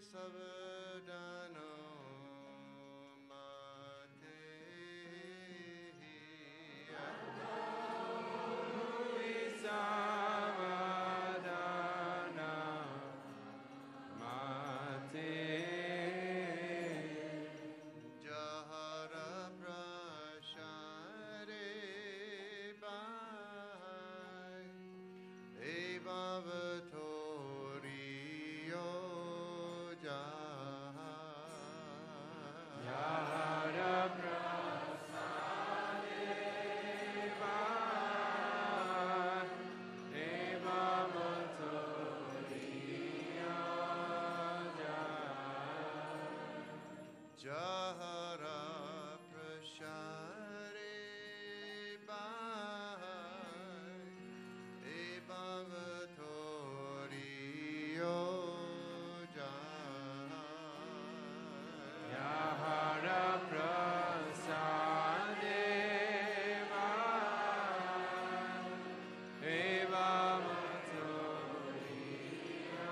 Savadano Mate Savadana Mate Jahara Prashare Bai Evavatoriyo Yara Prasade Eva Motoriya Jahara Prashare Bai Evavatoriyo Yara Prasade Eva Motoriya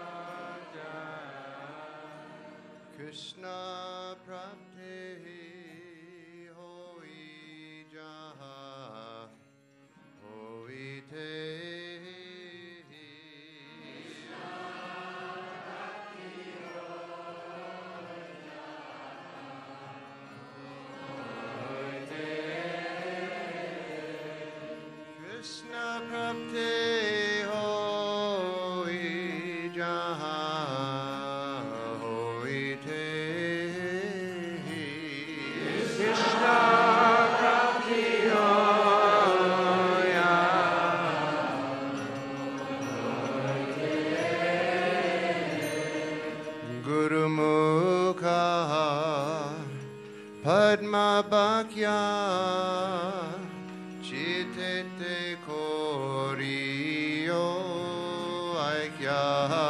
Krishna Prabde Hoi Jaha Hoi Te Krishna Prabde Hoi Jaha Hoi Te Krishna Prabhi Hoya Guru Mukha Padma Bhakya Chitete Koriyo Aikya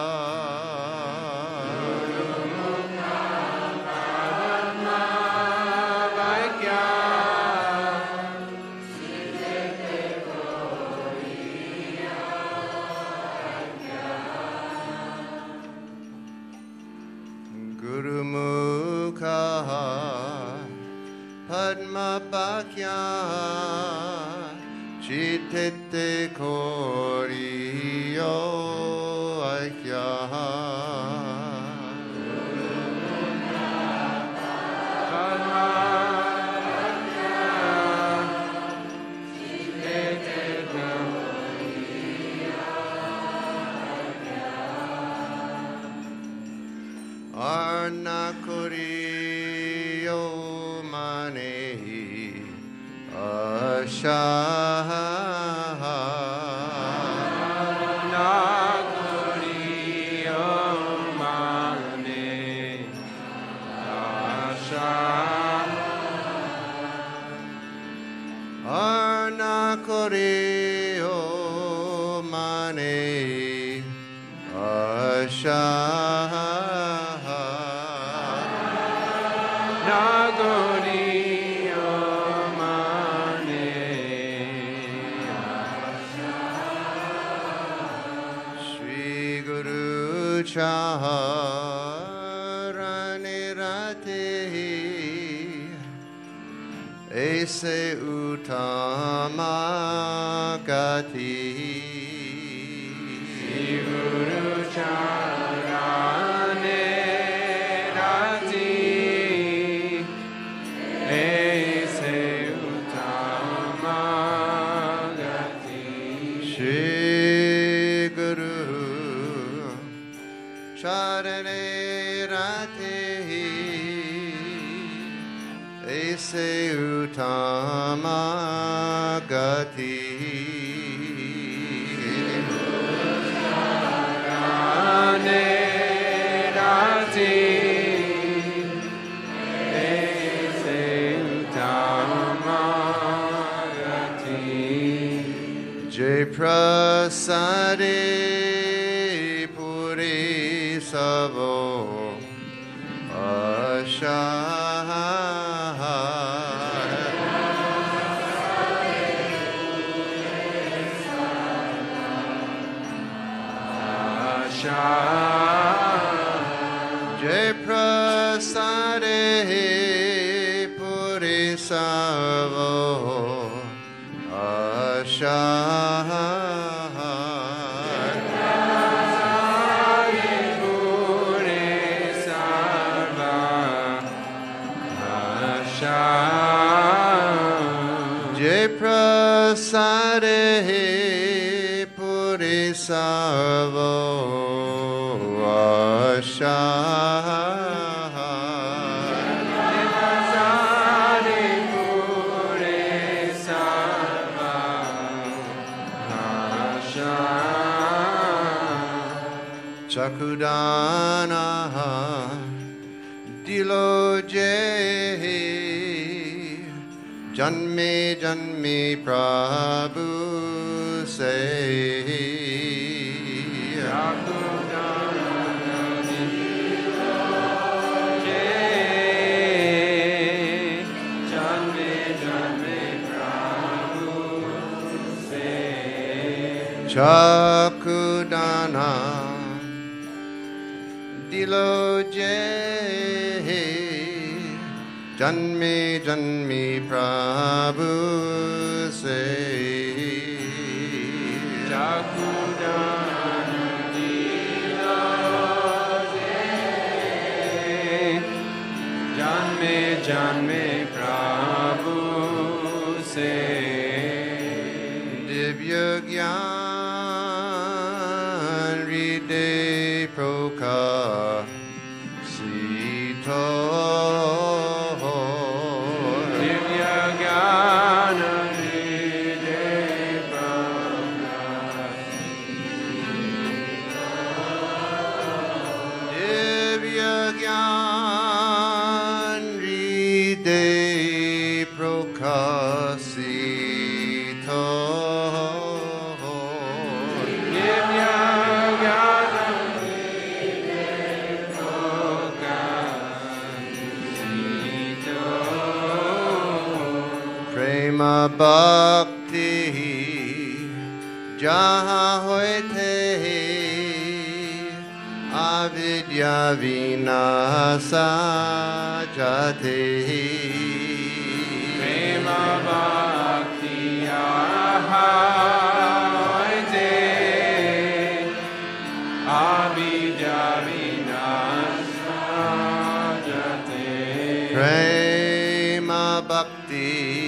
Guru Mukha Padma Bhakya Chitete Koriyo Aikya Arna Koriyo Manehi Ashaha Arna Koriyo Manehi Ashaha Shri Guru Charani Rati Aise Uttama Gati Shri Guru Charane Rati Aise Uttama Gati Shri Guru Charani Rati Aise Uttama Gati Charane Rati Aise Uttama Gati Jai Prasade Puri Savo Ashaha Jai prasade puri savo ashar. Jai prasade puri savo ashar. Chakudana dilo jehi janme janme Prabhu se. Chakudana dilo jehi janme janme Prabhu se. Chakudana dilo jehi janme janme Prabhu se. Divya Gyan Ride Prokasito. Divya Gyana Ride Divya Gyan Ride Prokasito. Prema bhakti jaha hoite avidya vinasa jate. Prema Bhakti Aha Avidya Vinasa Jate. Prema bhakti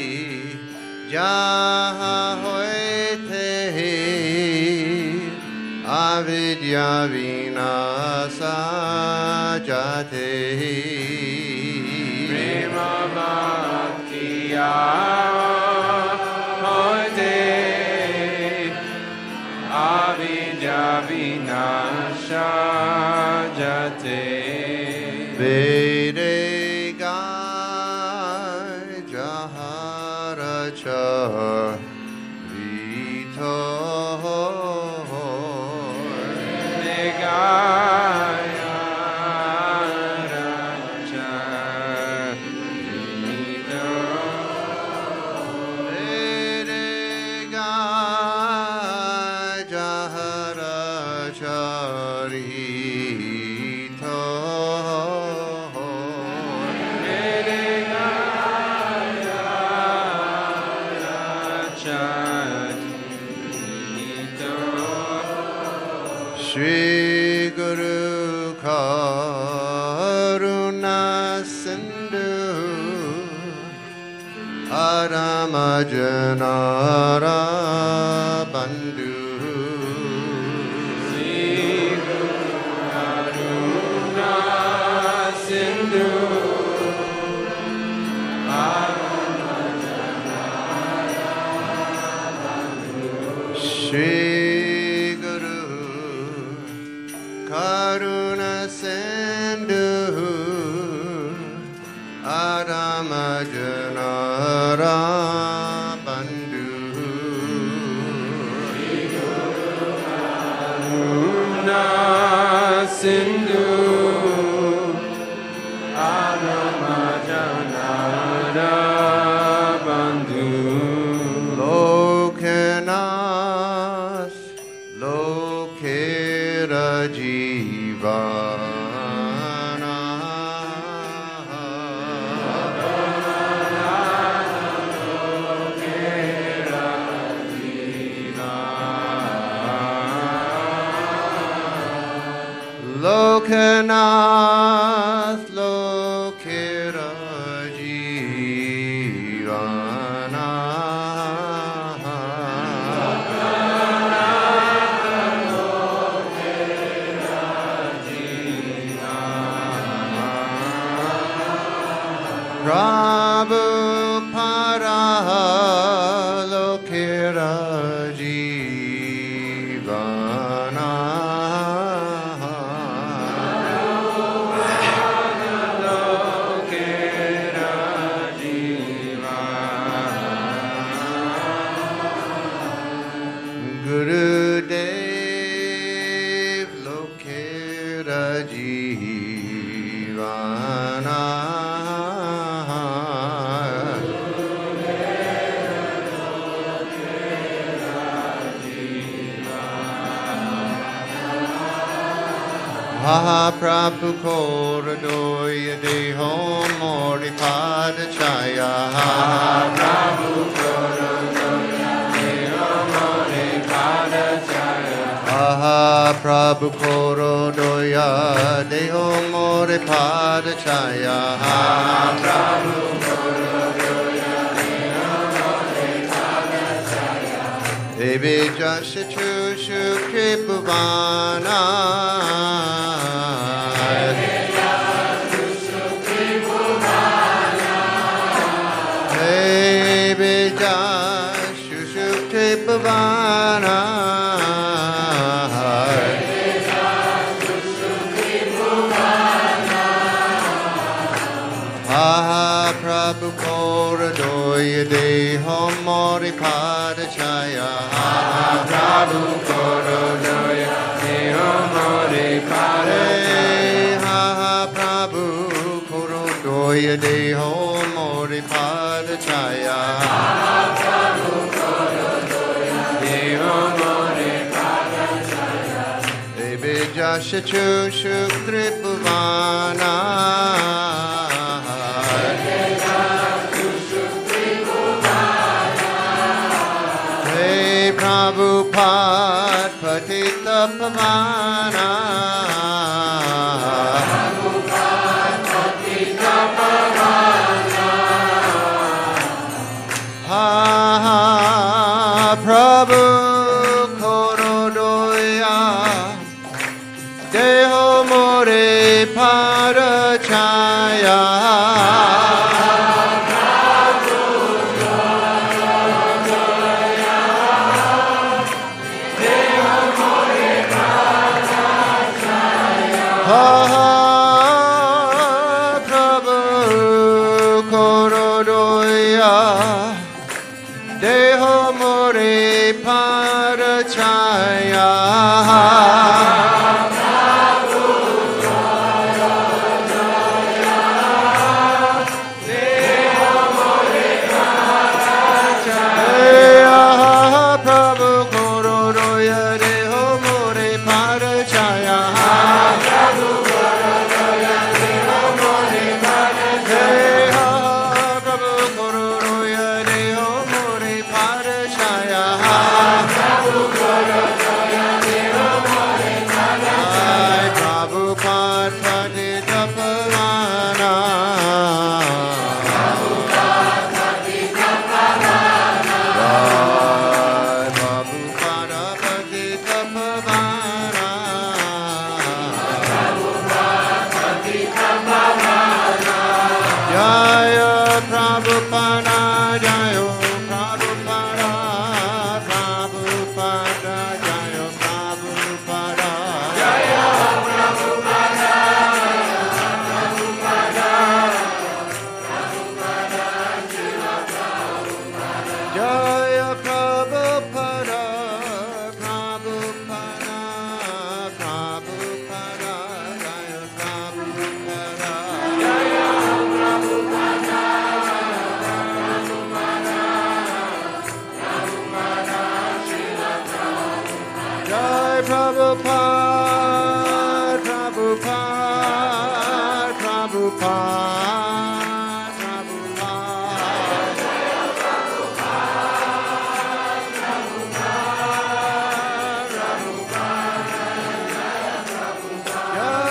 jaha hoite avidya vinasa jate. Prema Bhakti Avidya Vinasa Jate. Vede gai jaharacha vito. Vede gai jaharacha rito. Shri Guru Karuna Sindhu Aramajanara Bandhu. Shri Guru Karuna Sindhu Aramajanara Bandhu. Sindhu Aramajanara Bandhu. Lokenas Lokera Jivana Lokanath Lokira Jivana Prabhupada Lokira Jivana Gurudev Lokira Jivana Mahaprabhu Koradoya Deho Mori Padachaya Mahaprabhu Koradoya Deho Mori Padachaya Mahaprabhu Koradoya Deho Mori Padachaya Mahaprabhu Koradoya Deho Mori Padachaya Devi Jashachu Shukipuvana Pavana Mahaprabhu Koradoya Deho Mori Padachaya Mahaprabhu Koradoya Deho Mori Padachaya Mahaprabhu Koradoya Deho Mori Padachaya Mahaprabhu Koradoya Deho Mori Padachaya Devijashachu Shuktripavana Prabhupada Patita Pavana Prabhupada Patita Pavana Ha ha Prabhu Korodoya Deho More Padachaya Prabhu Korodoya Deho More Padachaya Prabhu Korodoya Deho More Padachaya Prabhu Korodoya Deho More Padachaya Prabhupada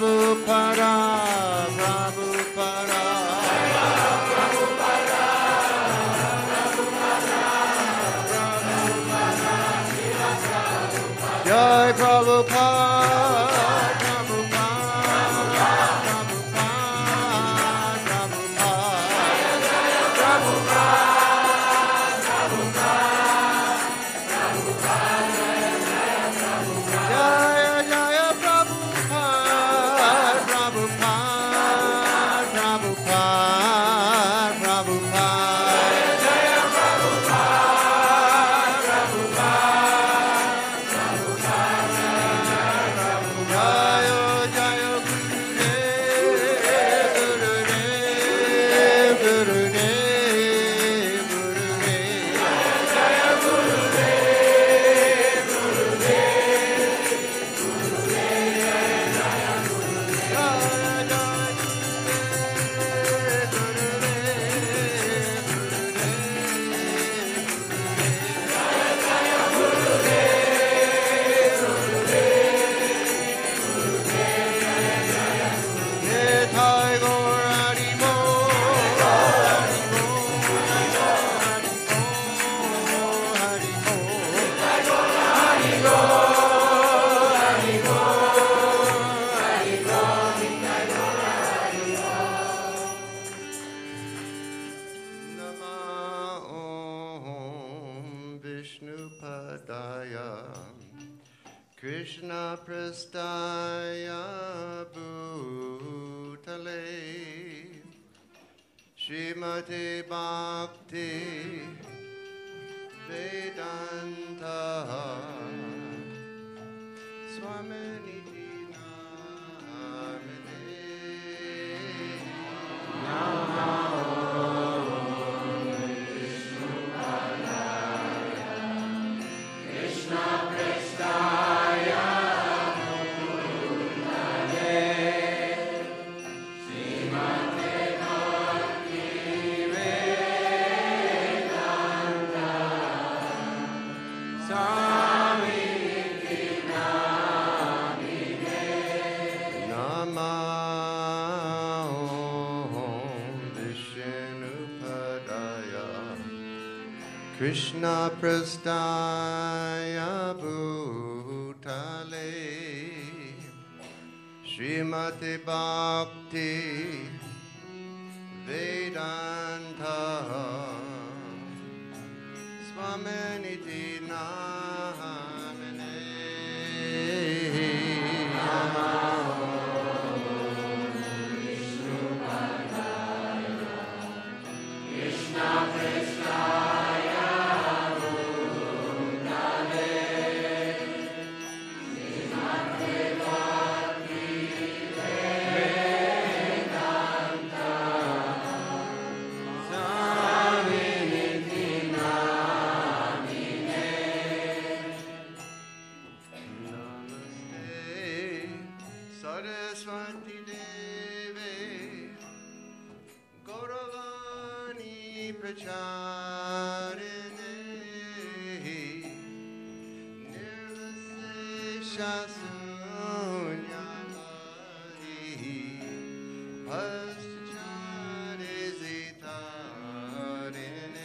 Prabhupada, Prabhupada. Jai Prabhupada, Prabhupada, Jaya Jaya Prabhupada, Prabhupada, Prabhupada, Prabhupada. Jaya Prabhupada, Prabhupada, Jaya Jaya Gurudev, Gurudev, Gurudev, Nitai Gaur Hari Bol, Hari Bol, Hari Bol. Nama Om Vishnupadaya Krishna Prastaya Bhutale Srimate Bhakti Vedanta Swaminiti Namine Nama Om Vishnupadaya Krishna Prastaya Bhutale Srimate Bhakti Vedanta Swaminiti Namine Saraswati Deve Gauravani Pracharine Nirvasesha Sunyavadi Paschare Zitarine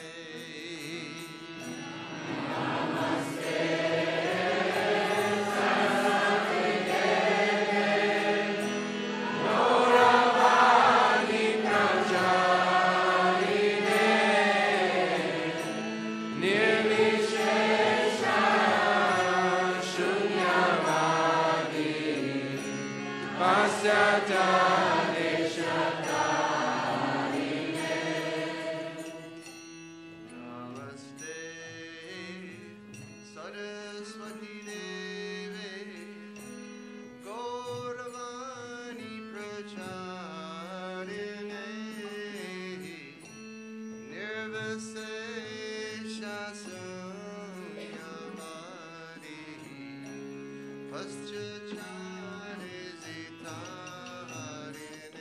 Namaste Saraswati Deve Gauravani Pracharine Nirvasesha Sunyavadi Paschachare Zitarine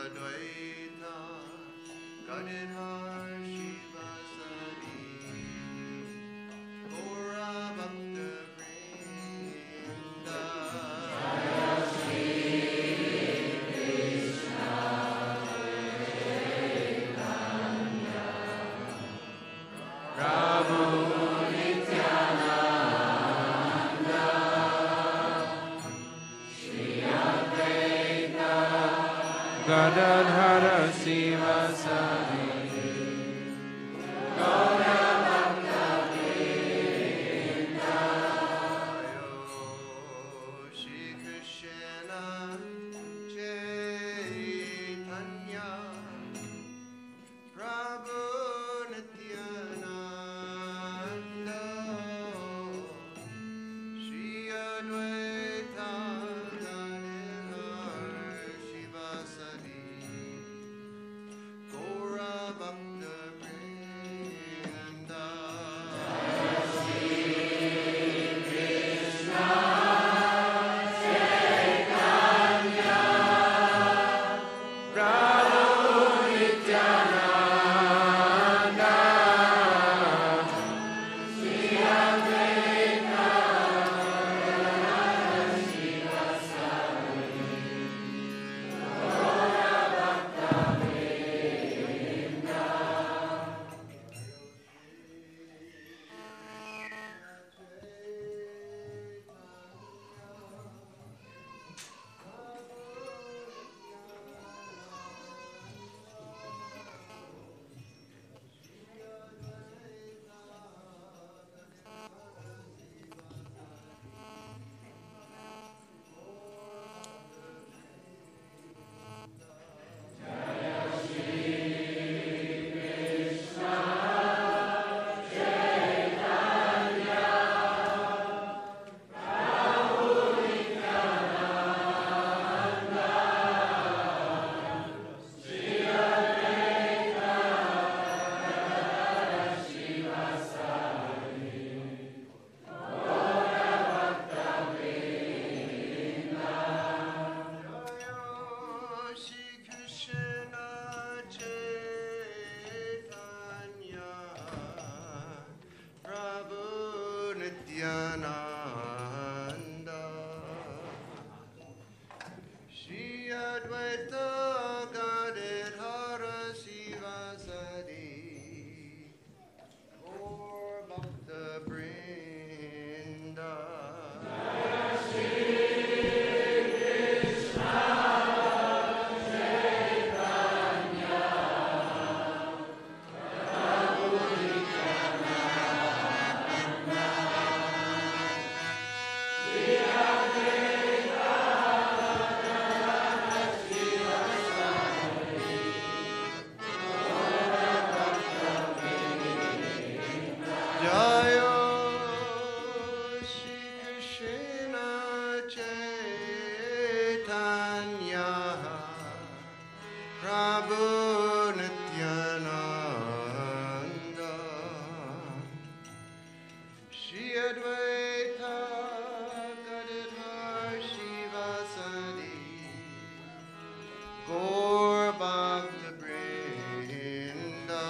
Advaita Gadadhar Shivasari Gaura Bhakta Vrinda Prabhu Nityananda Shri Advaita Gadadhara Sivasari Gaura Bhakta Vrinda Shri Krishna Chaitanya Prabhu Nityananda Shri Advaita Gadadhar Shivasari Gaura Bhakta Vrinda Prabhu Nityananda Shri Advaita Gadadhara Sivasari Gaura Bhakta Vrinda Shri Krishna Chaitanya Prabhu Nityananda Shri Advaita Gadadhara Sivasari Gaur Bhakta Vrinda Jaya Shri Krishna Chaitanya Prabhu Nityananda Shri Advaita Gadadhar Shivasari Gaur Bhakta Vrinda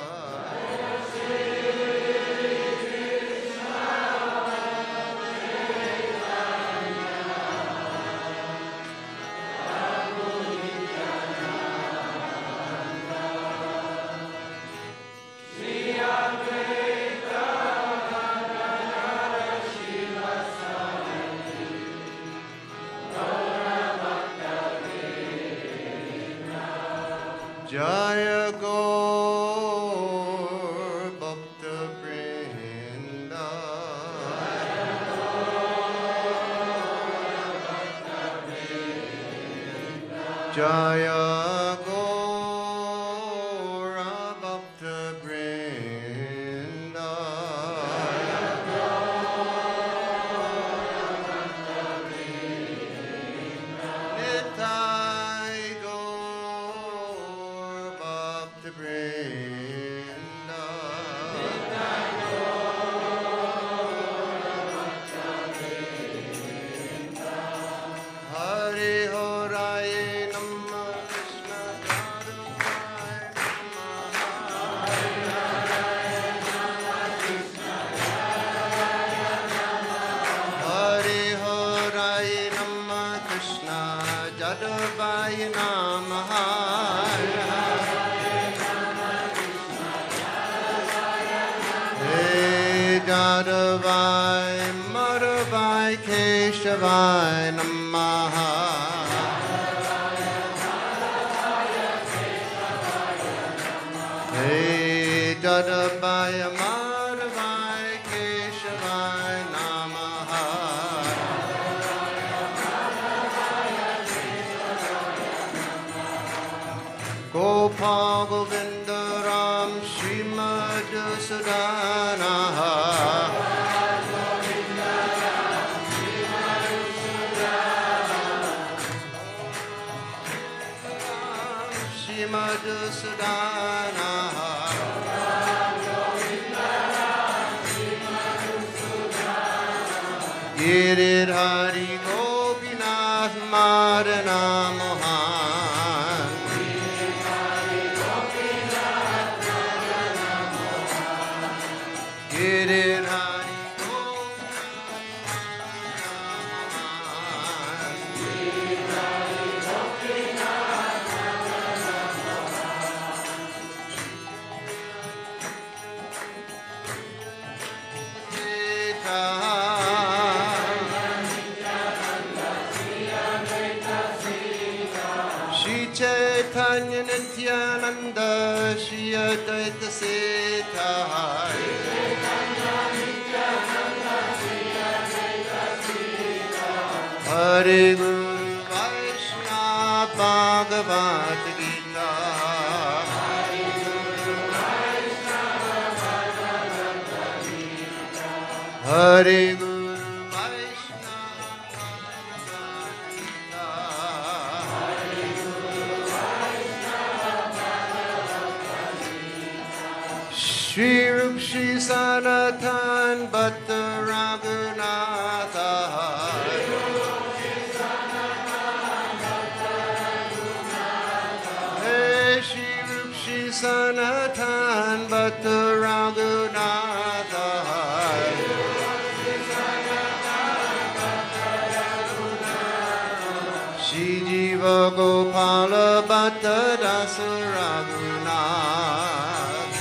Jaya Gaur Bhakta Vrinda Jaya Gaur Bhakta Vrinda Nitai Gaur Bhakta Vrinda Hare Hare Namah Krishna Namaha. Hey Jadavai Madhavai Keshavai Namaha. Hey Jadavai Madhavai Keshavai Namaha. Gopal Govinda Ram Srimad Sudana. Srimad Sudana. Giridhari Gopinath Madana Mohan. Giridhari Shri Chaitanya Nityananda Shri Advaita Sita. Hare Guru Vaishnava Bhagavad Gita. Hare Guru Vaishnava Bhagavad Gita. Shri Rup Shri Sanatan Bhatta Raghunatha. Hey Shri Rup Shri Sanatan Bhatta Raghunatha. Shri Jiva Gopala Bhatta Dasa Raghunath.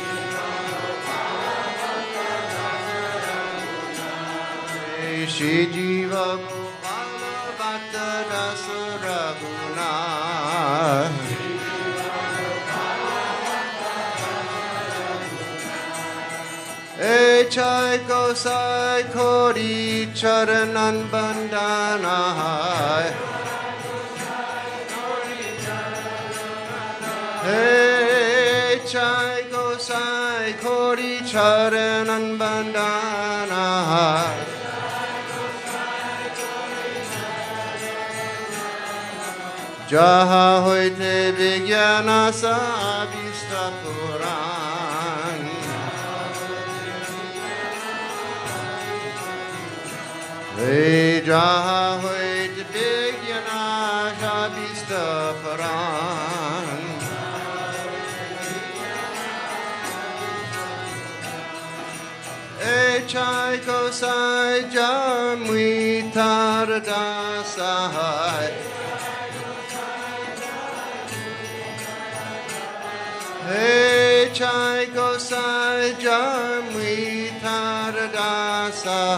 Shri Jiva Gopala Bhatta Dasa Raghunath. Chai Gosai Kori Charanan Bandana. Hey Chai Gosai Kori Charanan Bandana. Jaha hoite Vijnana Sabhista Puran. Hey Jaha hoite Vijnana Sabhista Puran. Hey Chai Kosai Jamui Taradasai. Hey Chai Gosai Jamui Taradasa.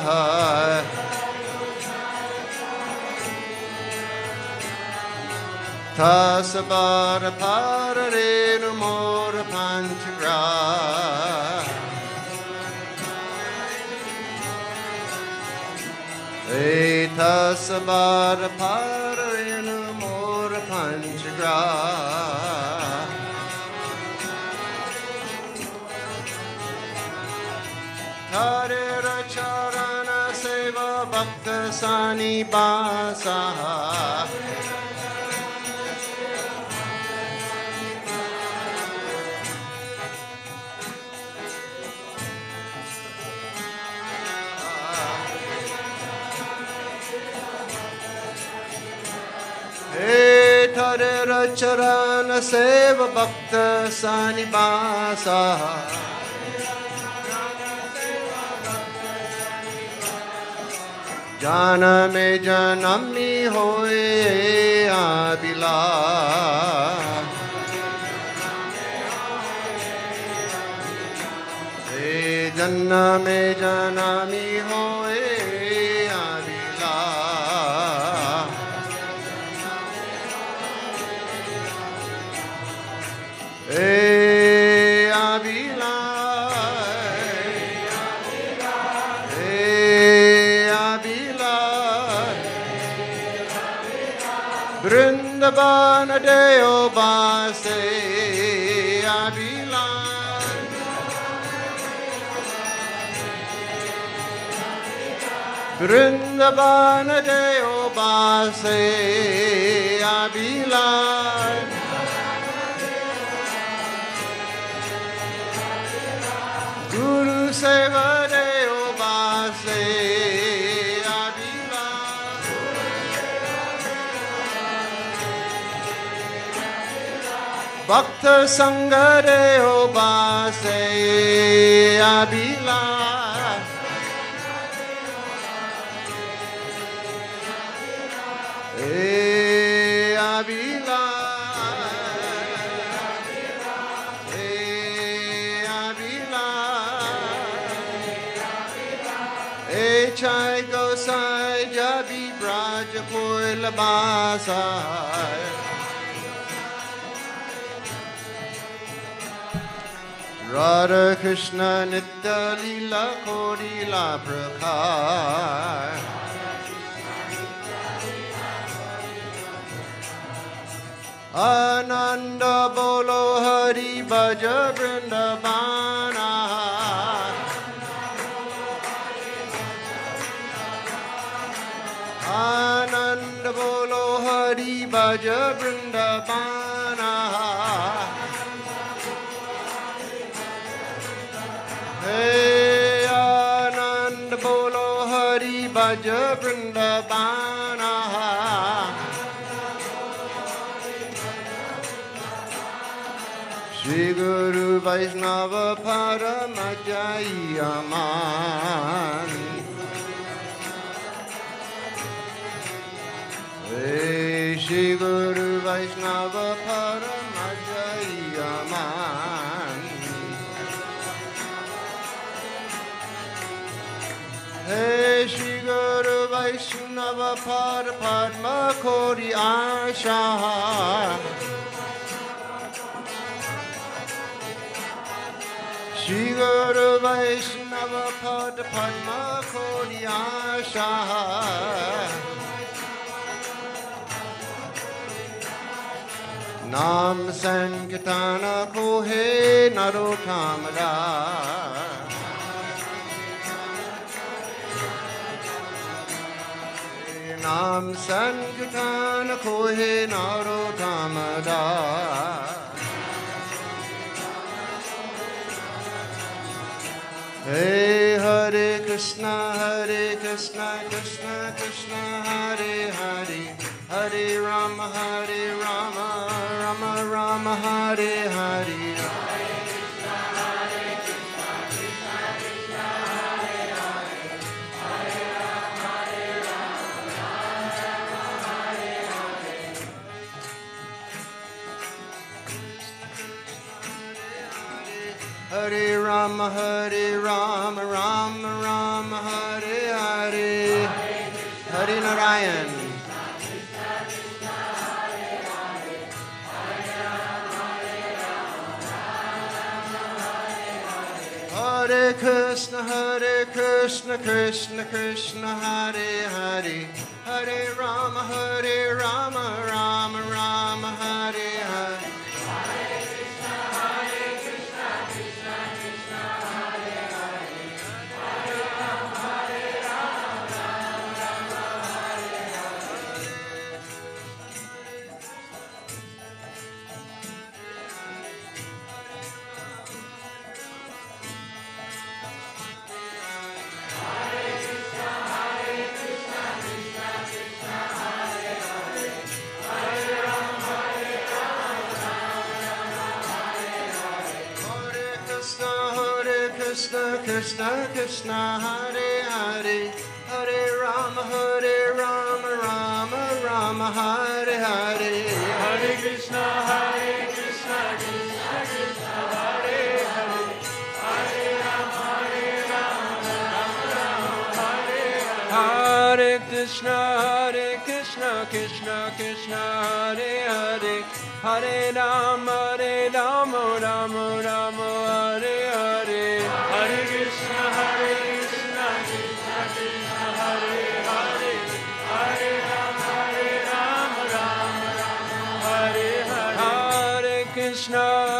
Tasabara Pararenu Mora Panchagra. Hey Tasabara Pararenu Mora Panchagra. Hare Charana Seva Bhakta Sani Basa. Hey Hare Charana Seva Bhakta Sani Basa. Janame janami hoye abhilash. Janame janami hoye abhilash. Vrindavana deo base abhilash. Vrindavana deo base abhilash. Guru seva deo base abhilash. Bhakta sangha deo base abhilash. Chai gosai jabi braja poila basai. Radha Krishna nitya lila kori la prakhar. Ananda bolo hari bhaja vrindavana. Ananda bolo hari bhaja vrindavana. Hey Ananda bolo hari bhaja vrindavana. Shri Guru Vaishnava Paramajayaman. Hey Shri Guru Vaishnava Paramajayaman. Hey Shri Guru Vaishnava Padma Kori Asha. Shri Guru Vaishnava Padma Kori Asha. Nam Sankirtana Kohe Narottamada. Nam Sankirtana Kohe Narottamada. Hey Hare Krishna Krishna Krishna Hare Hare. Hare Rama Rama Rama Hare Hare. Hare Rama Rama Rama Hare Hare. Hare Narayan. Hare Krishna Krishna Krishna Hare Hare. Hare Rama Rama Rama Hare Hare. Krishna Krishna Hare Hare. Hare Rama, Rama Rama, Hare Hare. Hare Krishna, Krishna Krishna, Hare Hare. Hare Rama, Rama Rama, Hare Hare. Hare Krishna, Krishna Krishna, Hare Hare. Hare Rama, Rama Rama, Hare Hare. Hare Krishna, Krishna Krishna, Hare Hare. Hare Rama, Rama Rama, Hare Hare. Hare Krishna,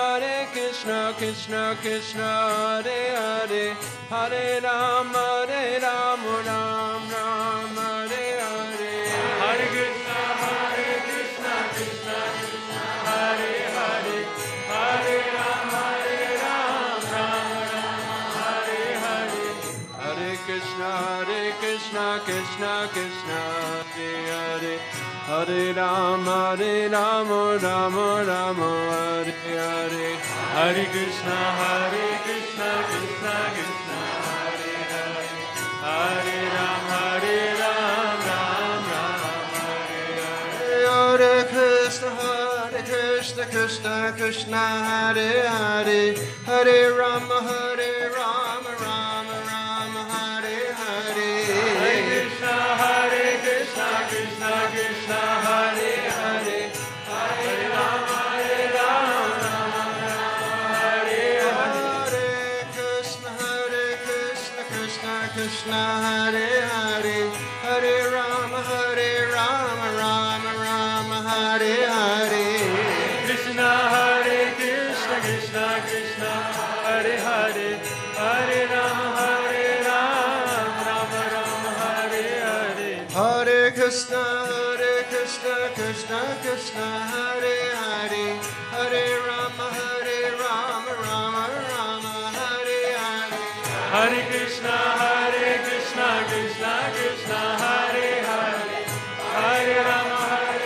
Krishna Krishna, Hare Hare. Hare Rama, Rama Rama, Hare Hare. Hare Krishna, Krishna Krishna, Hare Hare. Hare Rama, Rama Rama, Hare Hare. Hare Krishna, Krishna Krishna, Hare Hare. Hare Rama, Rama Rama, Hare Hare. Hare Krishna, Krishna Krishna, Hare Hare. Hare Rama, Rama Rama, Hare Hare. Hare Krishna, Krishna Krishna, Hare Hare. Hare Rama, Rama Rama, Hare Hare. Hare Krishna, Krishna Krishna, Hare Hare. Hare Rama, Rama Hare Hare. Hare Krishna, Krishna Krishna, Hare Hare. Hare Rama, Rama Rama, Hare Hare. Krishna, Krishna Krishna, Hare Hare. Hare Rama, Rama Rama, Hare Hare. Hare Krishna, Krishna Krishna, Hare Hare. Hare Rama, Rama Rama, Hare Hare. Hare Krishna, Krishna Krishna, Hare Hare. Hare Rama,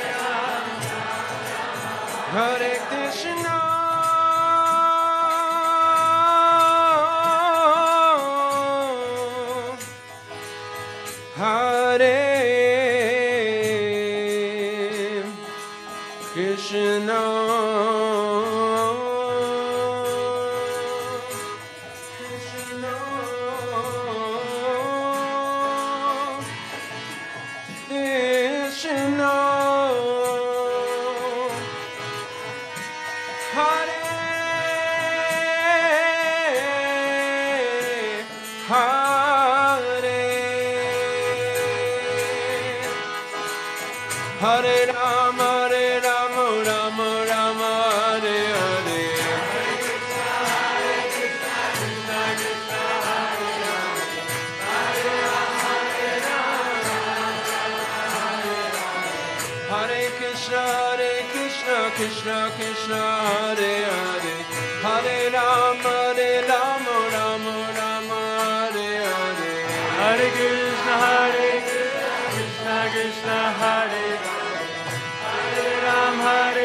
Hare Krishna, Hare Krishna, Krishna Krishna, Hare Hare. Hare Rama, Rama Rama, Hare Hare. Hare Krishna, Krishna Krishna, Hare Hare. Hare Rama, Rama Rama, Hare Hare. Hare Krishna, Krishna Krishna, Hare Hare. Hare Rama,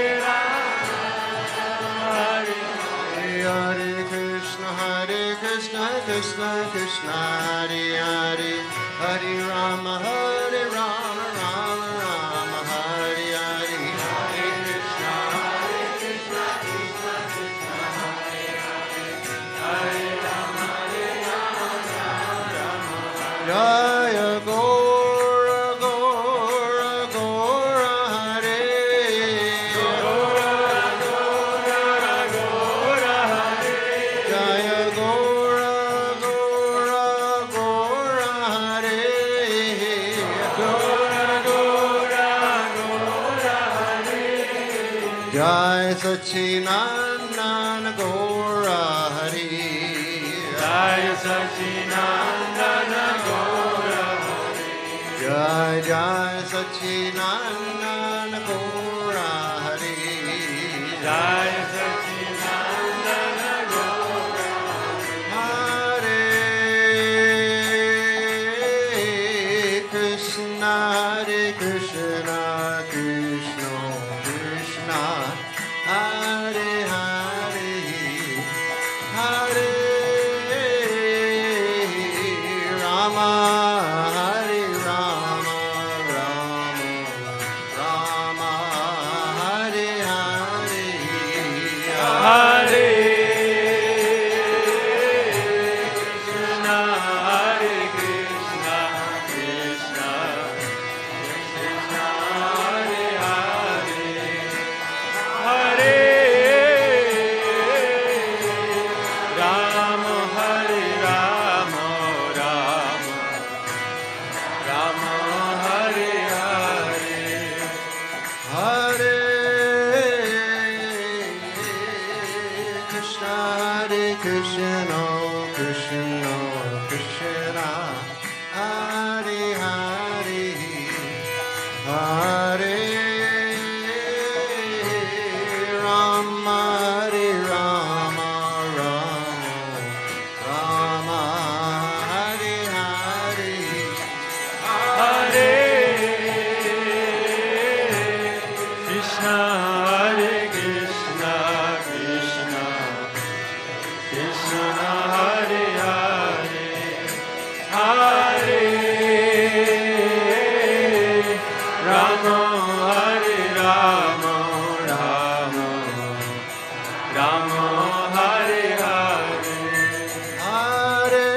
Hare Hare Krishna, Krishna Krishna, Hare Hare. Hare Rama, Rama Rama, Hare Hare. Hare Krishna, Krishna Krishna, Hare Hare. Hare Rama, Rama Jaya Gora Gora Gora Hare. Jaya Gora Gora Gora Hare. Jai Sachinandana Gora Hare. Jai Sachinandana Gaura Hare. Jai Jai Sachinandana Gora Hare. Jai Sachinandana Gaura Hare Krishna, Krishna Krishna Krishna, Hare Hare. Hare Rama, Hare Krishna, Krishna, Krishna, Hare Hare, Hare Rama, Hare Rama, Rama, Rama, Hare Hare, Hare Krishna, Hare Krishna, Krishna Krishna, Hare Hare, Hare Rama, Hare Rama, Rama Rama, Hare Hare. Hare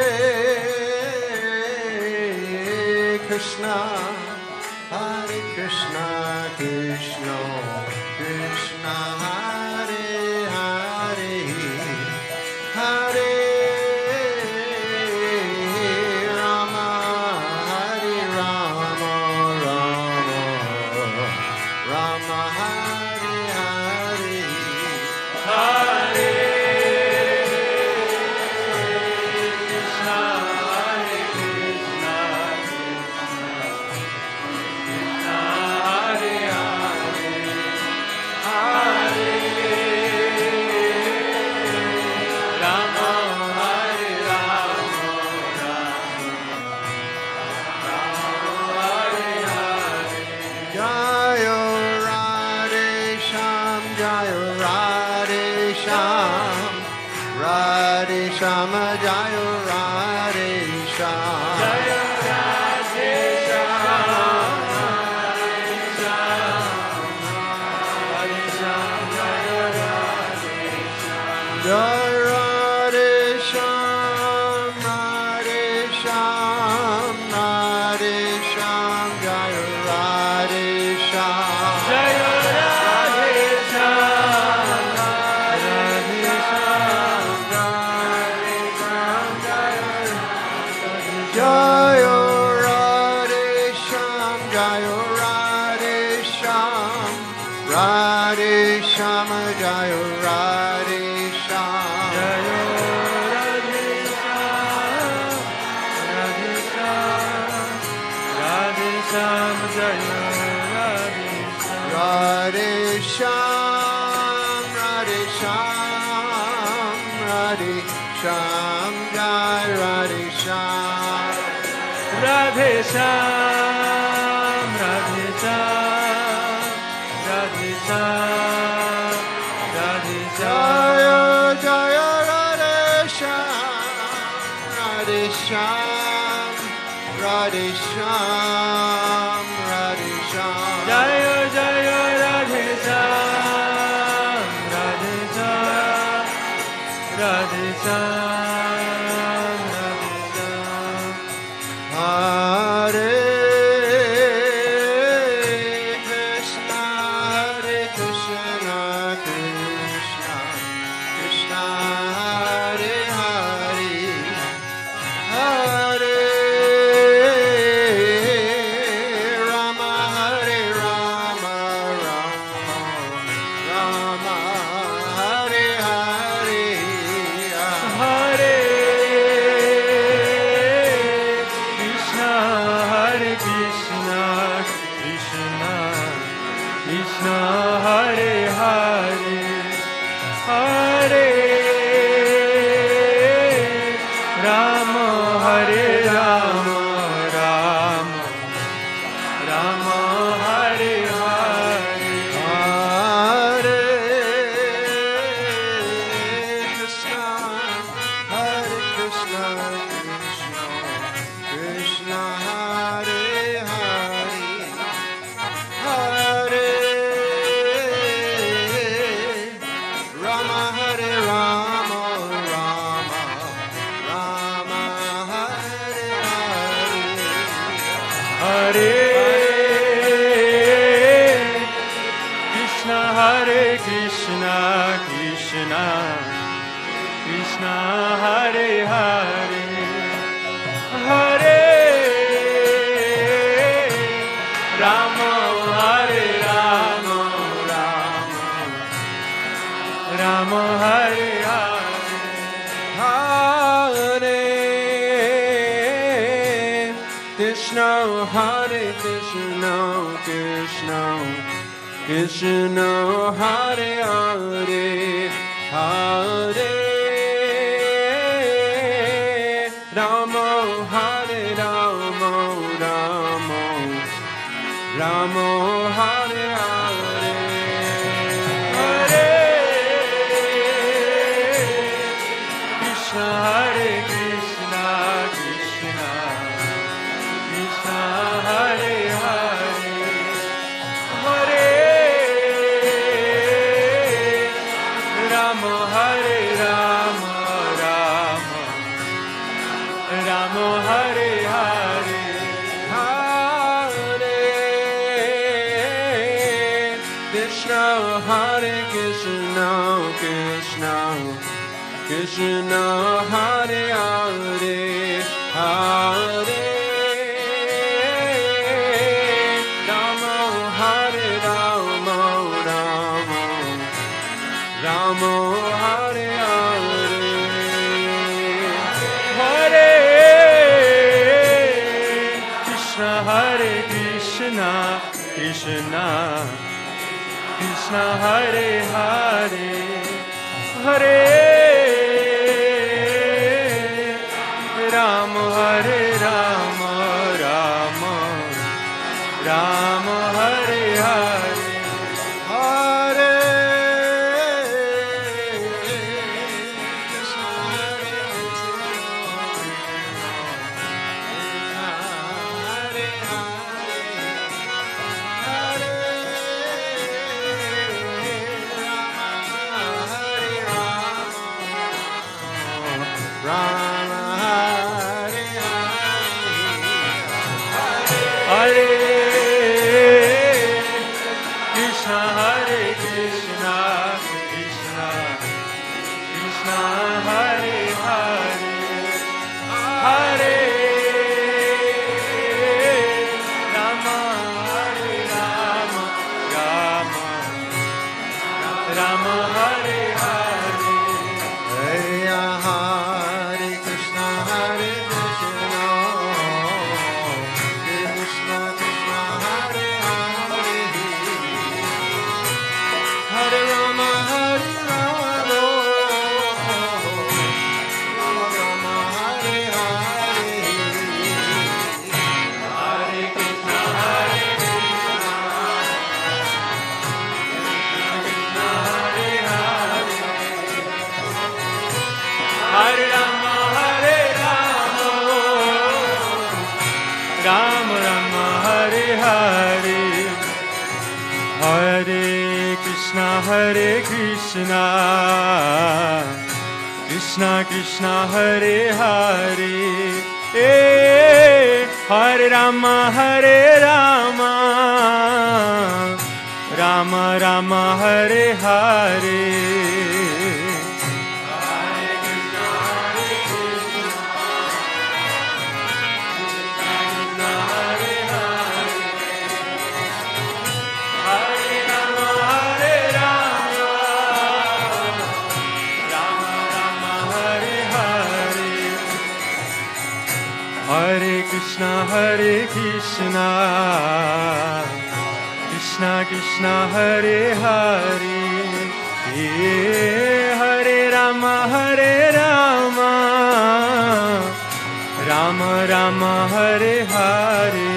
Krishna, Hare Krishna, Krishna Krishna, Hare Hare, Hare Rama, Hare Rama, Rama Rama, Hare Hare. Hare Krishna, Hare Krishna, Krishna Hare Hare, Hare Rama, Hare Rama, Rama Hare Hare. Jayo Radhe Sham, Jayo Radhe Sham, Radhe Sham, Jayo Radhe Sham. Jaya Radhe Shyam, Radhe Shyam, Jaya Radhe Shyam. Jai Radhe Sham, Radhe Sham, Radhe Sham, Jayo Radhe Sham. Jaya Radhe Shyam, Radhe Shyam, Radhe Shyam, Jaya Jayo Radhe Sham, Jayo Radhe Sham, Radhe Sham, Jayo Radhe Sham. Jaya Radhe Shyam, Radhe Shyam, Radhe Shyam, Jaya Radhe Shyam. Radhe Sham, Radhe Sham, Radhe Sham, Jai Radhe Sham. Radhe Shyam, Radhe Shyam, Radhe Shyam, Radhe Shyam. Jaya Jaya Radhe Sham, Radhe Sham, Radhe Sham, Radhe Sham. Jaya Jaya Radhe Shyam, Radhe Shyam, Radhe Shyam, Radhe Shyam. Hare Krishna, Hare Krishna, Krishna Krishna, Hare Hare, Hare Rama, Hare Rama, Rama Rama, Hare Hare, Hare Krishna, Hare Krishna, Krishna Krishna, Hare Hare, Hare Rama, Hare Rama, Rama Rama, Hare Hare. Hare Krishna, Hare Krishna, Krishna Krishna, Hare Hare, Hare Rama, Hare Rama, Rama Rama, Hare Hare. Hare Krishna, Hare Krishna, Krishna Krishna, Hare Hare, Hare Rama, Hare Rama, Rama Rama, Hare Hare. Hare Krishna, Hare Krishna, Krishna Krishna, Hare Hare, Hare Rama, Hare Rama, Rama Rama, Hare Hare, Hare Krishna, Hare Krishna, Krishna Krishna, Hare Hare, Hare Rama, Hare Rama, Rama Rama, Hare Hare, Hare Krishna, Hare Krishna, Krishna Krishna, Hare Hare, Hare Rama, Hare Rama, Rama Rama, Hare Hare, Hare Krishna, Hare Krishna, Krishna Krishna, Hare Hare, Hare Rama, Hare Rama, Rama Rama, Hare Hare, Hare Hare Krishna, Hare Krishna, Krishna Krishna, Hare Hare, Hare Rama, Hare Rama, Rama Rama, Hare Hare, Hare Krishna, Hare Krishna, Krishna Krishna, Hare Hare, Hare Rama, Hare Rama, Rama Rama, Hare Hare, Hare Krishna, Hare Krishna, Krishna Hare Hare, Hare Rama, Hare Rama, Rama Rama, Hare Hare, Hare Krishna, Hare Krishna, Krishna Krishna, Hare Hare, Hare Rama, Hare Rama, Rama Rama, Hare Hare, Hare Krishna, Hare Krishna, Krishna Krishna, Hare Hare, Hare Rama, Hare Rama, Rama Rama, Hare Hare,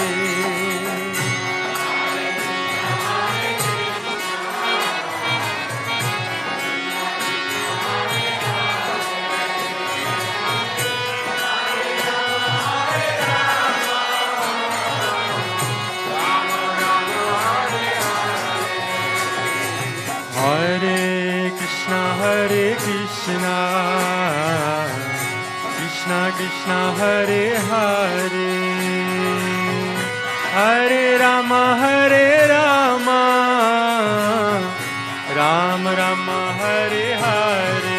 Hare Krishna, Hare Krishna, Krishna Krishna, Hare Hare, Hare Rama, Hare Rama, Rama Rama, Hare Hare,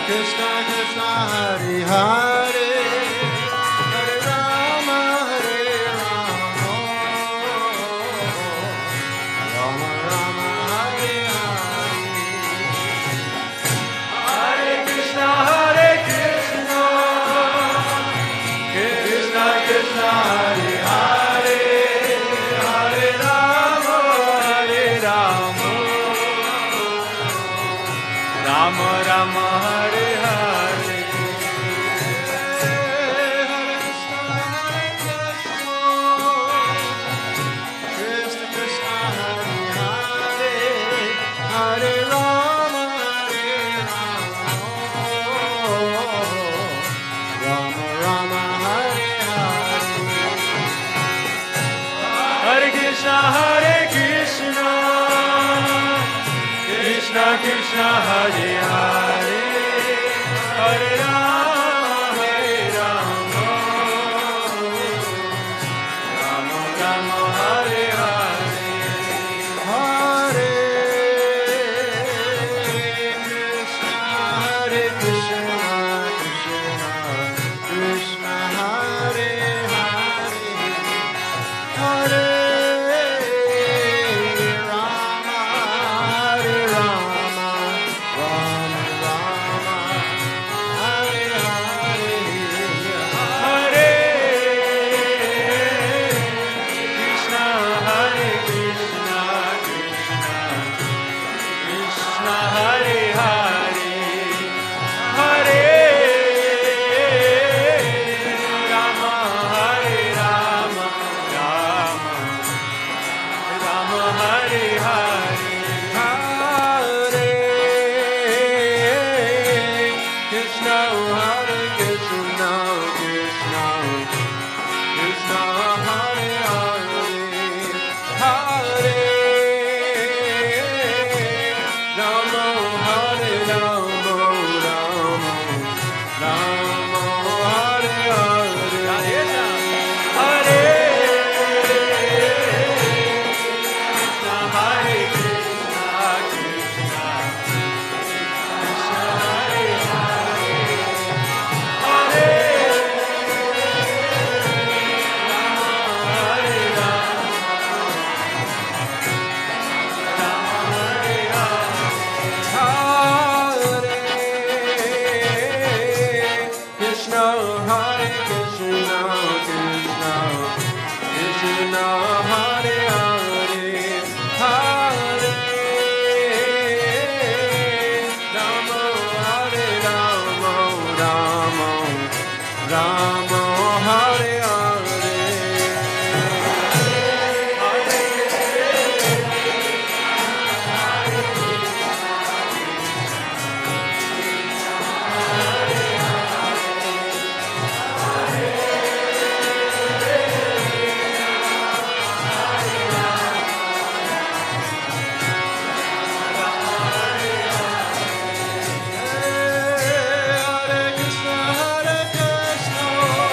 Krishna Krishna Hare Hare Hare Rama Rama Rama Hare Hare Hare Krishna Hare Krishna Krishna Krishna Hare Hare Hare Rama Rama Rama Hare Hare Krishna Krishna Hare Hare Hare Rama Rama Rama Hare Hare Hare Krishna Hare Krishna Krishna Krishna Hare Hare Hare Rama Rama Rama Hare Hare Hare Krishna Hare Krishna Krishna Hare Hare Hare Rama Rama Rama Hare Hare Hare Krishna Hare Krishna Krishna Hare Hare Hare Rama Hare Rama Rama Hare Hare Hare Krishna Hare Krishna Krishna Krishna Hare Hare Hare Rama Hare Rama Rama Hare Hare Hare Krishna Hare Krishna Krishna Hare Hare Hare Hare Krishna Hare Krishna Krishna Krishna Hare Hare Hare Rama Hare Rama Rama Hare Hare Hare Krishna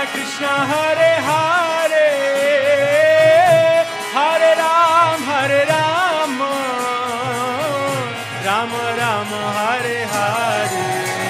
Krishna Hare Hare Hare Ram Rama Rama Hare Hare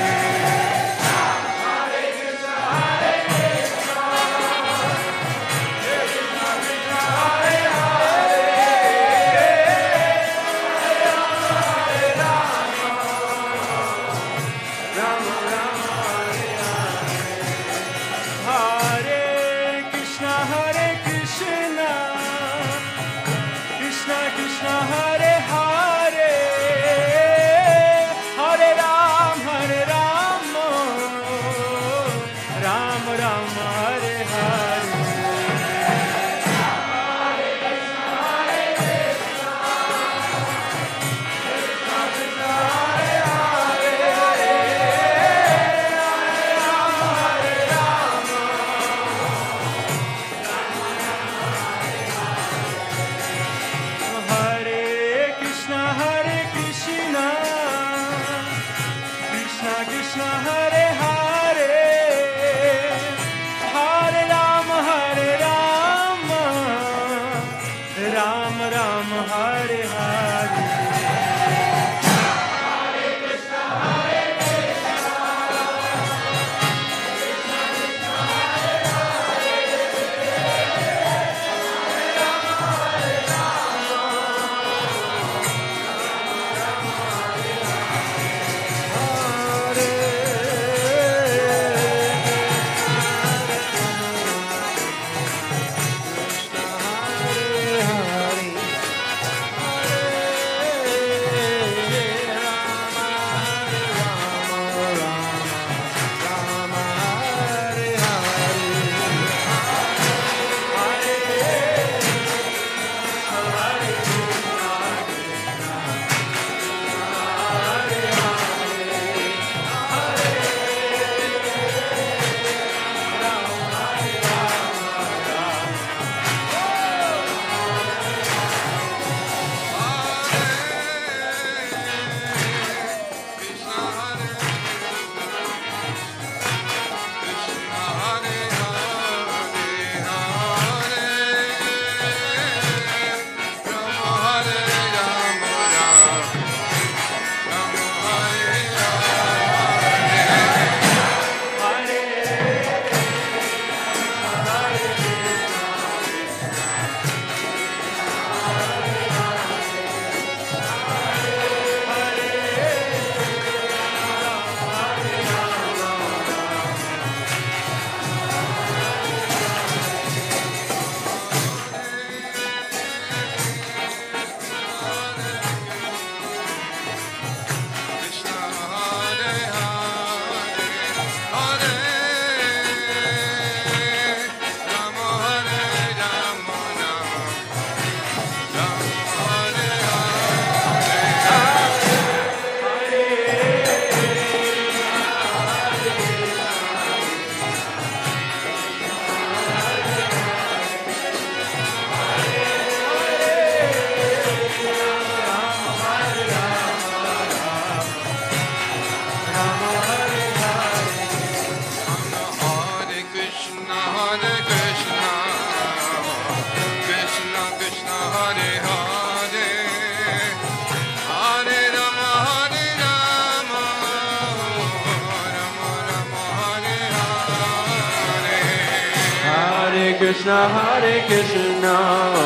Krishna Hare Krishna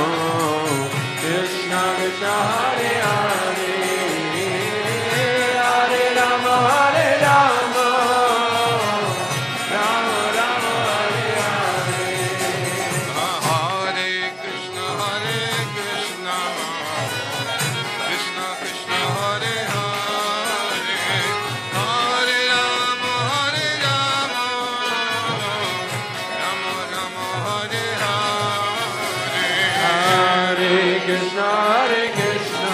Krishna Krishna Hare Hare Hare Rama Hare Rama Rama Rama Hare Hare Hare Krishna Krishna Krishna Hare Hare Hare Rama Rama Rama Hare Hare Krishna Hare Krishna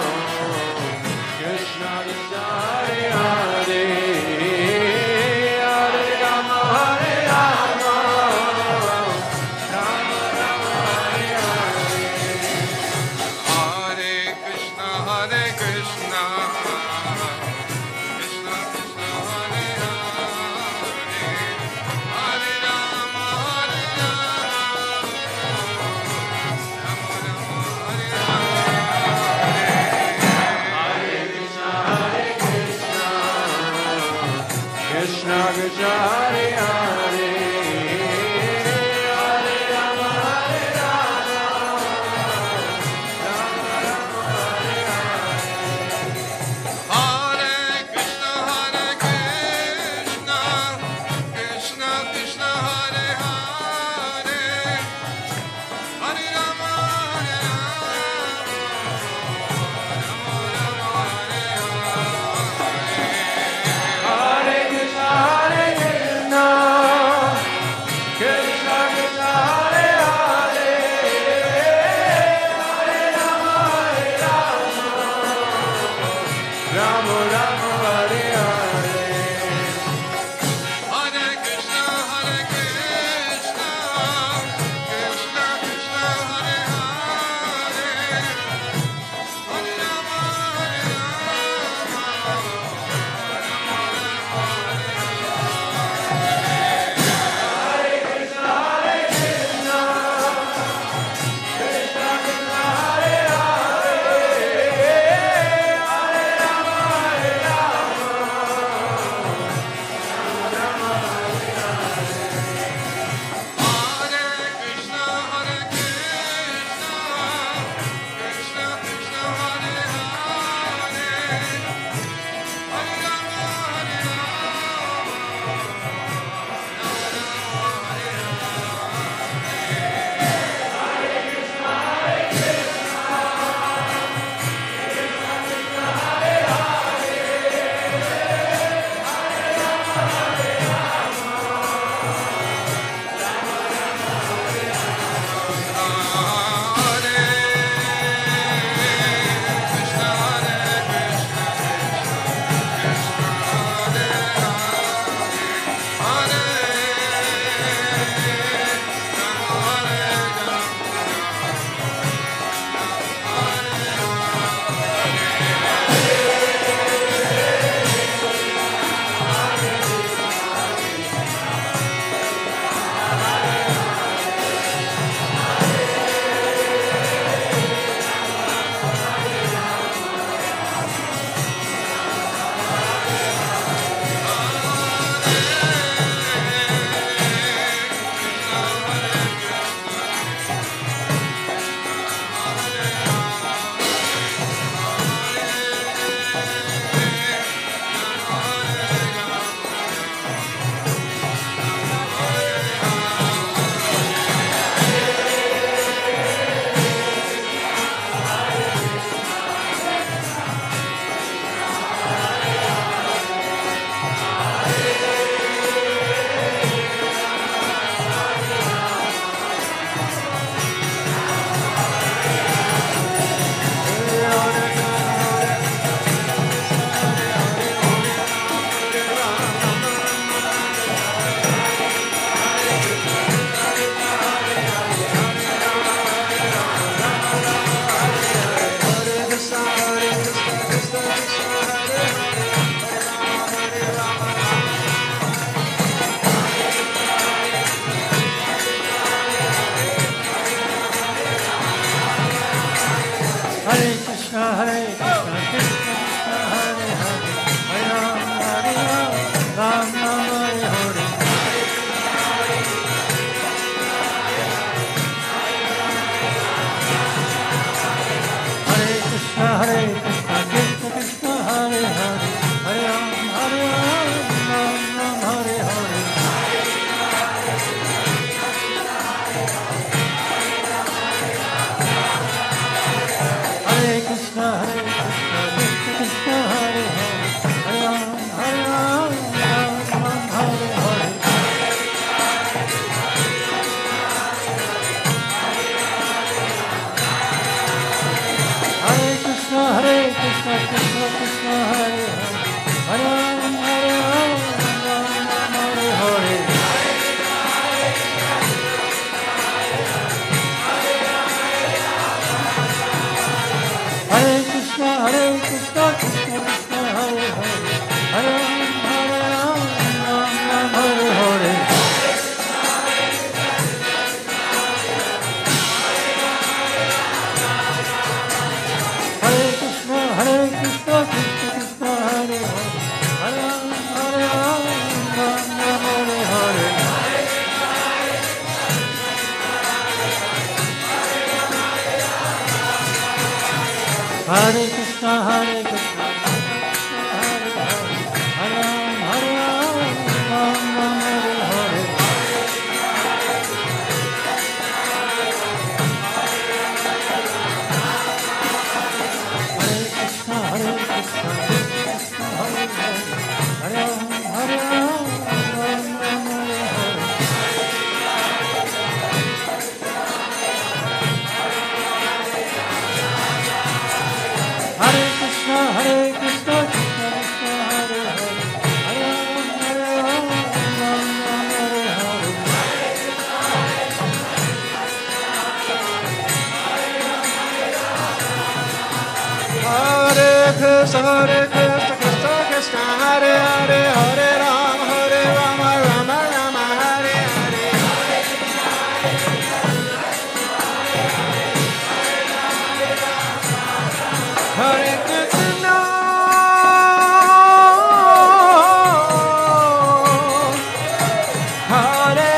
Krishna Krishna Hare Hare Hare Rama Hare Rama Rama Rama Hare Hare Hare Krishna Krishna Krishna Hare Hare Hare Rama Hare Krishna, Krishna Krishna, Hare Hare, Hare Ram, Hare Ram, Ram Ram, Hare Hare. Hare Krishna, Krishna Krishna, Hare Hare, Hare Ram, Ram Ram, Hare Hare. Hare Krishna, Krishna Krishna, Hare Hare, Hare Ram, Ram Ram, Hare Hare. Hare Krishna, Krishna Krishna, Hare Hare, Hare Ram, Ram Ram, Hare Hare. Hare Krishna, Krishna Krishna, Hare Hare, Hare Ram, Ram Ram, Hare Hare. Hare Krishna, Krishna Krishna, Hare Hare, Hare Ram, Ram Ram, Hare Hare. Hare Krishna, Krishna Krishna, Hare Hare, Hare Ram, Ram Ram, Hare Hare. Hare Krishna, Krishna Krishna, Hare Hare, Hare Ram, Ram Ram, Hare Hare. Hare Krishna, Krishna Krishna, Hare Hare, Hare Ram, Ram Ram, Hare Hare. Hare Krishna, Krishna Krishna, Hare Hare, Hare Rama, Rama Rama, Hare Hare. Hare Krishna, Hare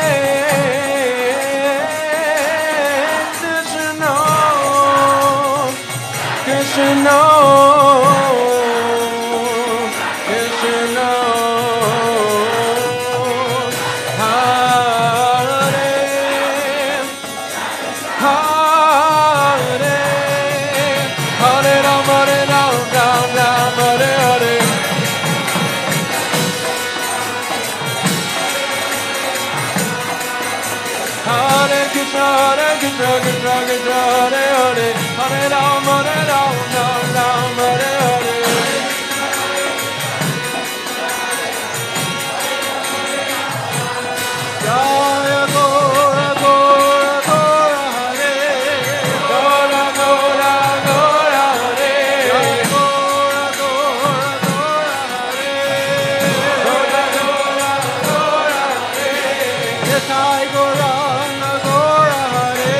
Krishna, Krishna Krishna, Hare Hare, Hare Ram, Ram Ram, Hare Hare. Hare Krishna, Krishna Krishna, Hare Hare, Hare Ram, Ram Ram, Hare Hare. Jaya Gora Gora Gora Hare, Gora Gora Gora Hare, Jaya Gora Gora Gora Hare, Gora Gora Gora Hare, Nitai Gauranga Gora Hare,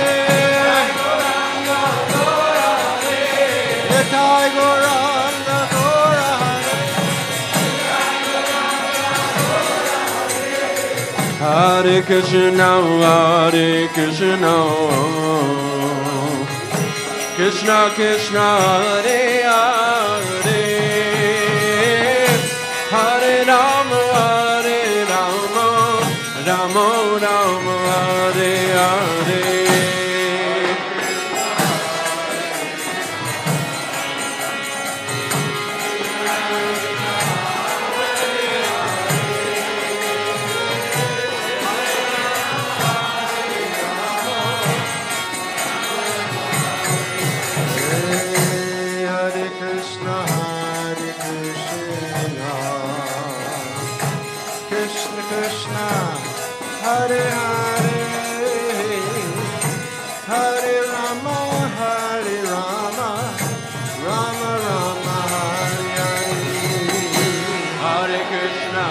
Nitai Gauranga Gora Hare. Hare Krishna, Hare Krishna, Krishna Krishna, Hare Hare, Hare Rama, Rama Rama, Hare Hare. Hare Krishna, Krishna Krishna, Hare Hare, Hare Rama, Rama Rama, Hare Hare. Hare Krishna,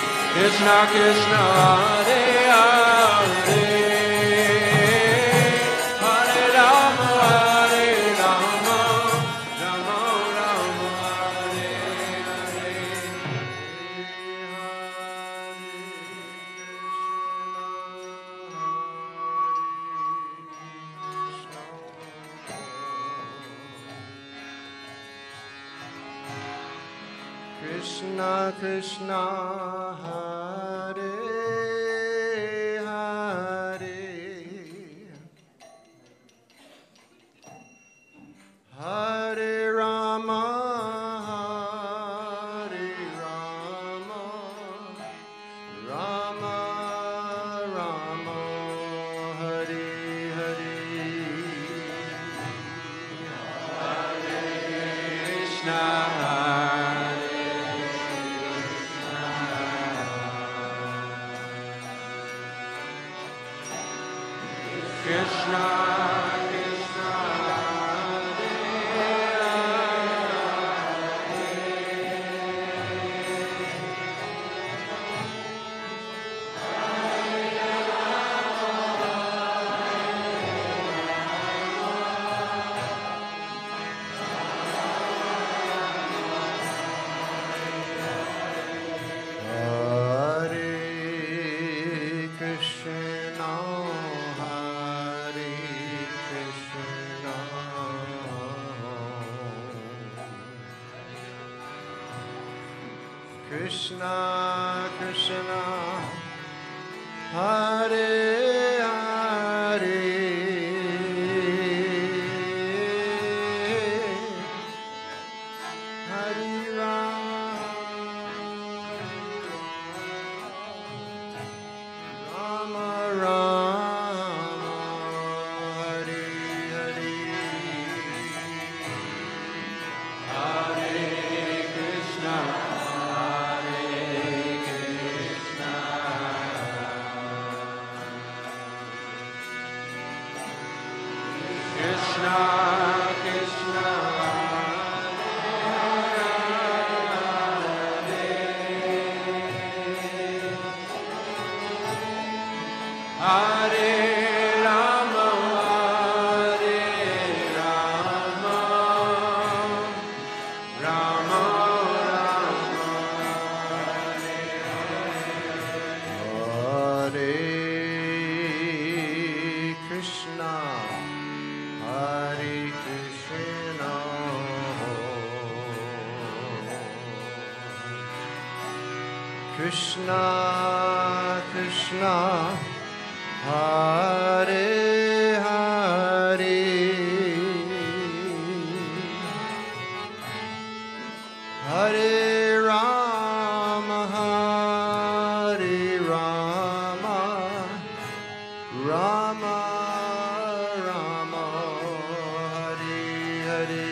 Krishna Krishna, Hare Hare, Krishna Krishna Hare Hare Hare Rama Hare Rama Rama Rama Hare Hare Krishna Krishna Krishna Hare Krishna Hare Krishna Krishna Krishna Hare Hare Hare Rama Rama Hare Hare Hare Krishna Krishna Krishna Hare Rama Hare Rama Rama Rama Hare Krishna Hare Krishna Krishna Krishna Hare Hare Hare Rama Hare Rama Rama Rama Hare Hare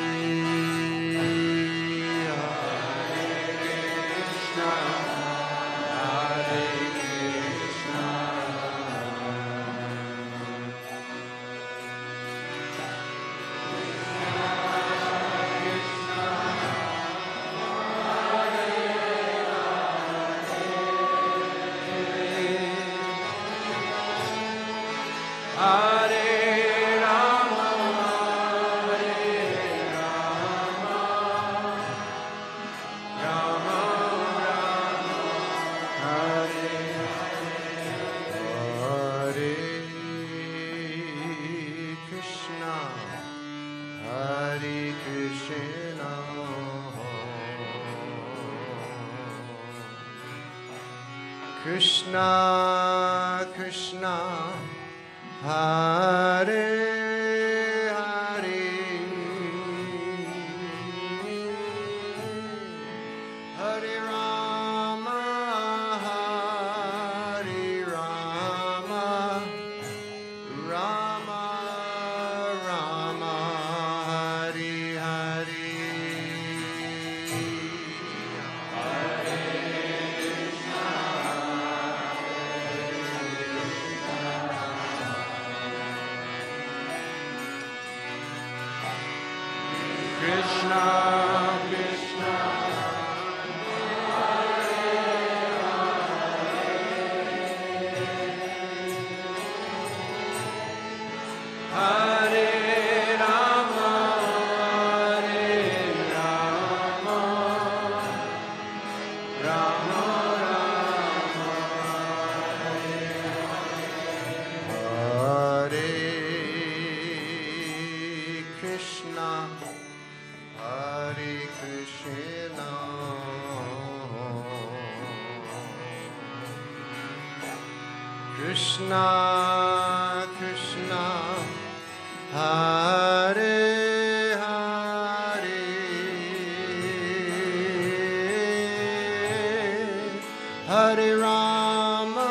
Hare Krishna Hare Krishna Hare Rama Hare Rama Rama Rama Hare Hare Krishna Hare Krishna Krishna Krishna Hare Hare Hare Rama Hare Rama Rama Rama Hare Hare Krishna Krishna Hare Rama Hare Rama Rama Rama Hare Krishna Hare Krishna, Krishna, Hare Hare, Hare Rama,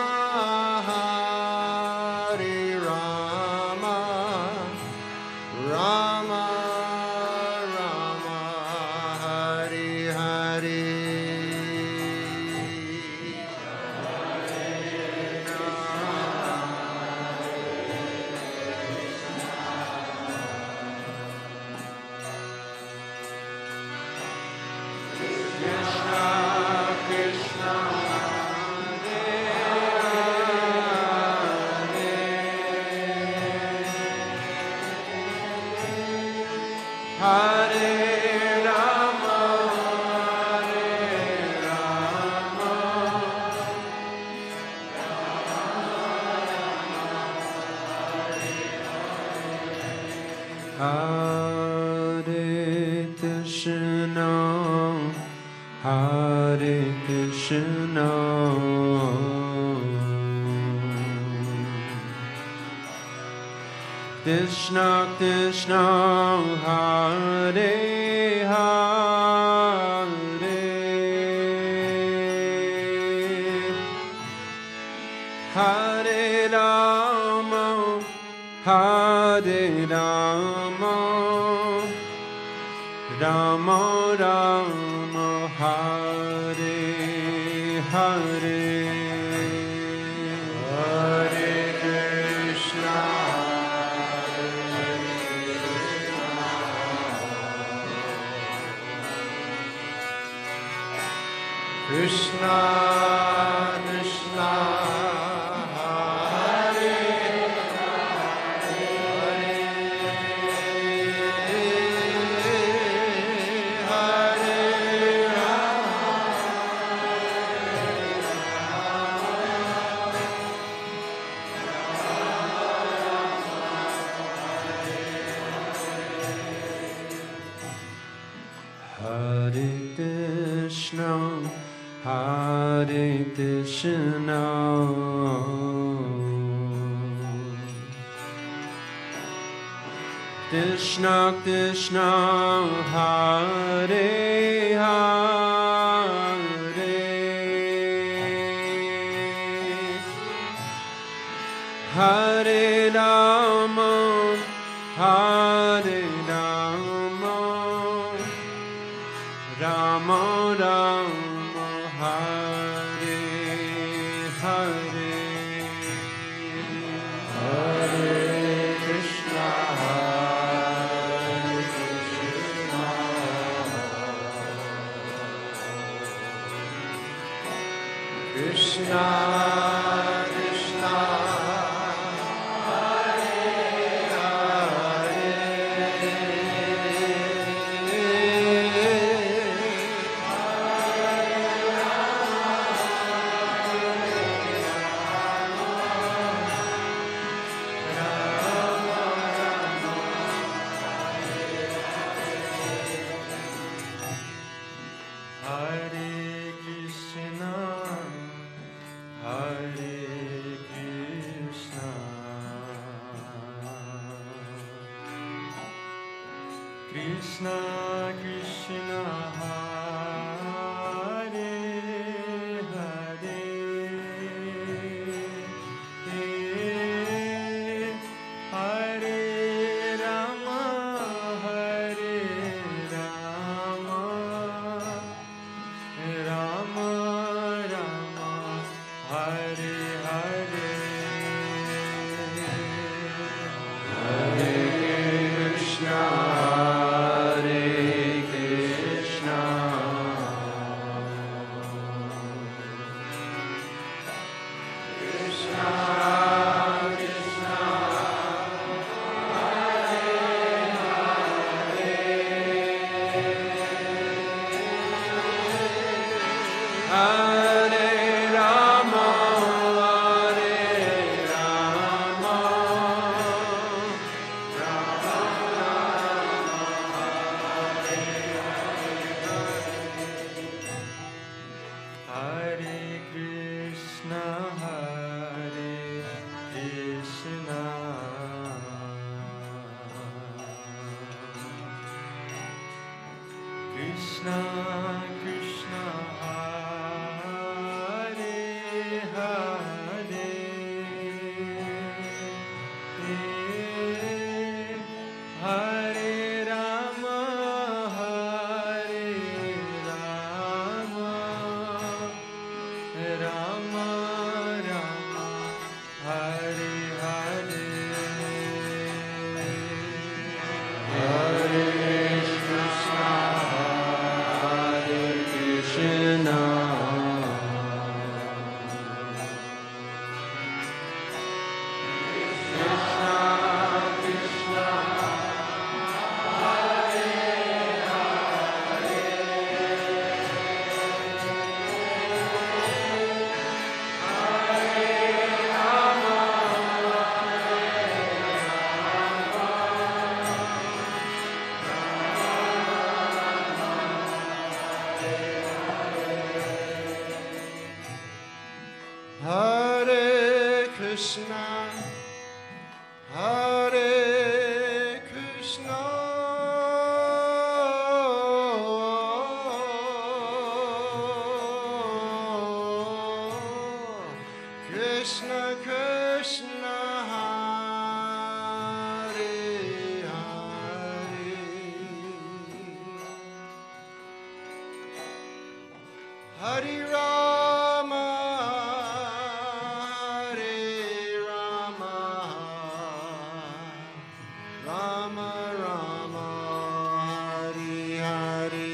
Hare Rama, Rama Rama, Hare Hare. Hare Rama, Hare Rama, Hare Krishna, Hare Krishna, Krishna Krishna, Hare Hare, Hare Rama, Hare Rama, Rama Rama, Hare Hare, Hare Krishna, Krishna Krishna, Hare Hare Krishna, Hare Krishna, Krishna Krishna, Hare Hare, Hare Rama, Hare Rama, Rama Rama, Hare Hare, Hare Krishna, Hare Krishna, Krishna Krishna, Hare Krishna, Hare Krishna, Krishna Krishna, Hare Hare, Hare Rama, Hare Rama, Rama Rama, Hare Hare, Hare Krishna, Hare Krishna, Krishna Krishna, Hare Rama, Hare Rama, Rama Rama, Hare Krishna, Hare Hare Krishna, Hare Krishna, Krishna Krishna, Hare Hare, Hare Rama, Hare Rama, Rama Rama, Hare Hare.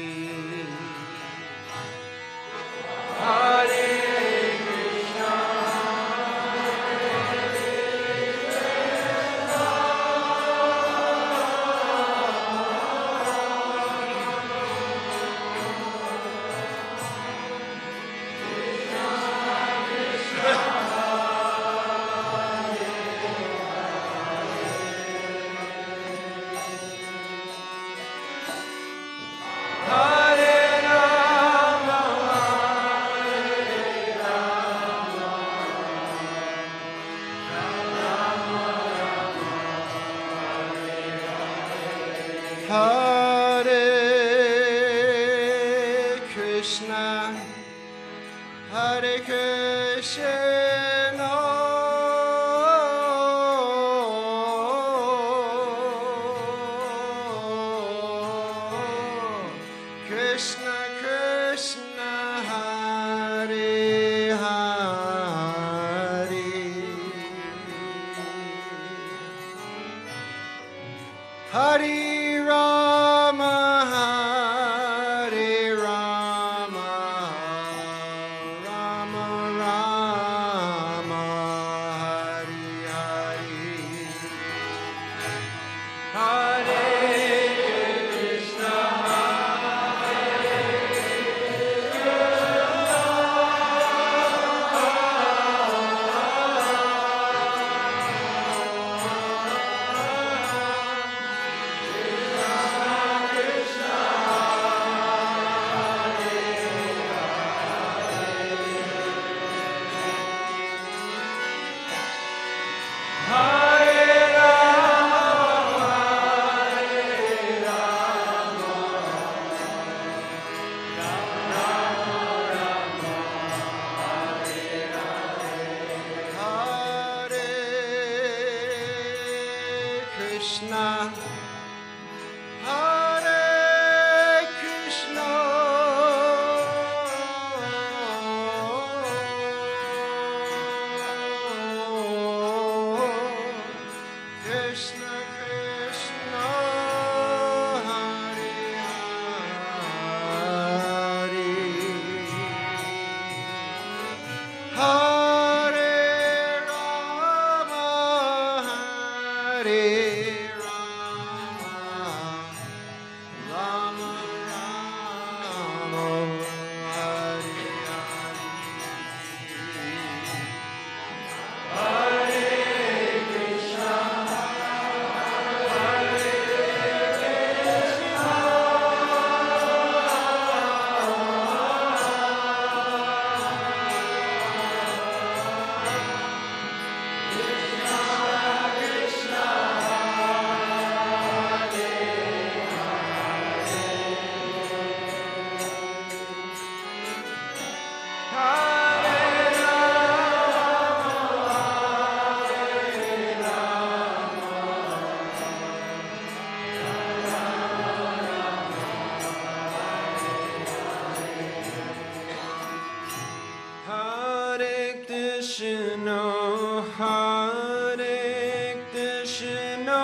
Hare Krishna, Hare Krishna, Krishna Krishna, Hare Hare. Hare Rama, Hare Rama, Rama Rama, Hare Hare. Hare Krishna, Hare Krishna, Krishna Krishna, Hare Hare. Hare Rama, Hare Rama, Rama Rama, Hare Hare Krishna, Hare Krishna,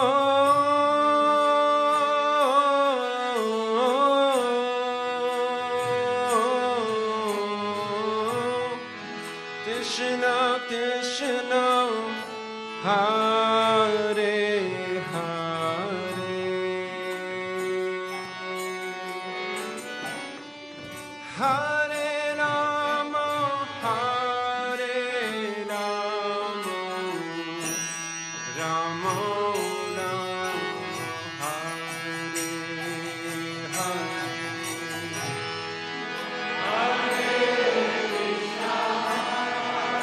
Krishna Krishna, Hare Hare, Hare Rama, Hare Rama, Rama Rama, Hare Hare.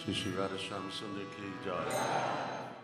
Shri Shri Radhe Shyam सुंदर की जय।